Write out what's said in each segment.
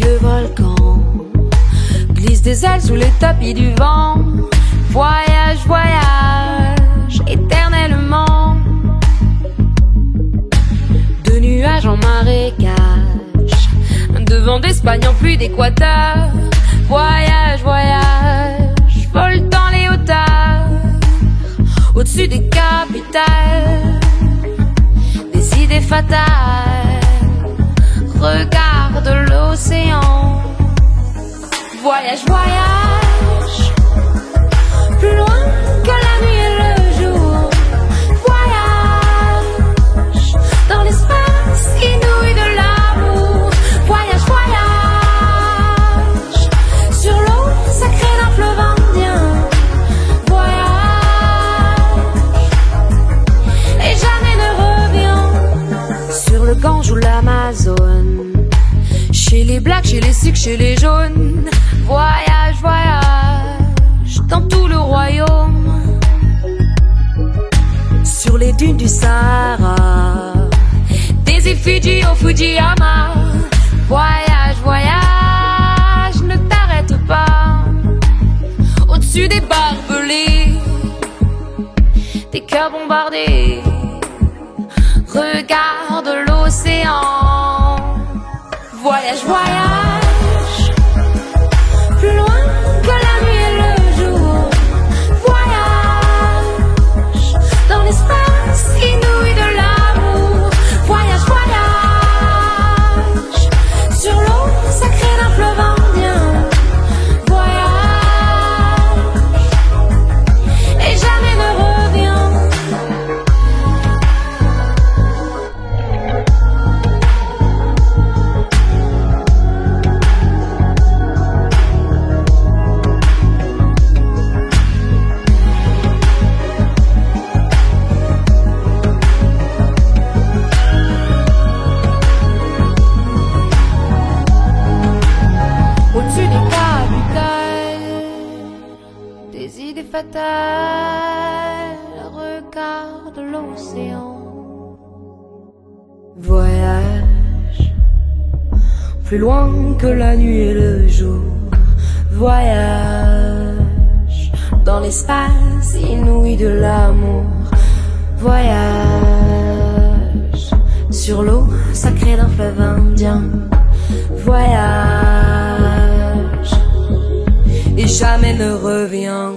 le volcan, glisse des ailes sous les tapis du vent. Voyage, voyage, éternellement. De nuages en marécage, de vent d'Espagne en pluie d'Équateur. Voyage, voyage, vole dans les hauteurs, au-dessus des capitales, des idées fatales. Regarde l'océan. Voyage, voyage, plus loin que la nuit et le jour. Voyage dans l'espace inouï de l'amour. Voyage, voyage sur l'eau sacrée d'un fleuve indien. Voyage et jamais ne revient. Sur le Gange ou l'Amazone, chez les blacks, chez les sikhs, chez les jaunes. Voyage, voyage dans tout le royaume. Sur les dunes du Sahara, des îles Fidji au Fujiyama. Voyage, voyage, ne t'arrête pas. Au-dessus des barbelés, des cœurs bombardés. Regarde l'océan. Voyage, voyage, plus loin que la nuit et le jour. Voyage dans l'espace inouï de l'amour. Voyage, voyage sur l'eau sacrée d'un fleuve indien. Voyage et jamais ne revient. Au-dessus des capitales, des idées fatales. Regarde l'océan. Voyage, plus loin que la nuit et le jour. Voyage dans l'espace inouï de l'amour. Voyage sur l'eau sacrée d'un fleuve indien. Voyage et jamais ne revient.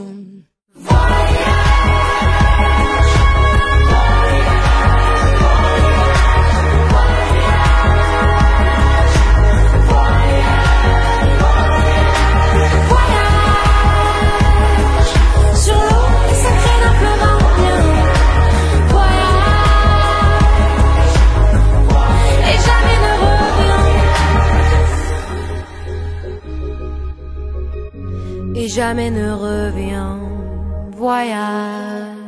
Et jamais ne revient. Voyage.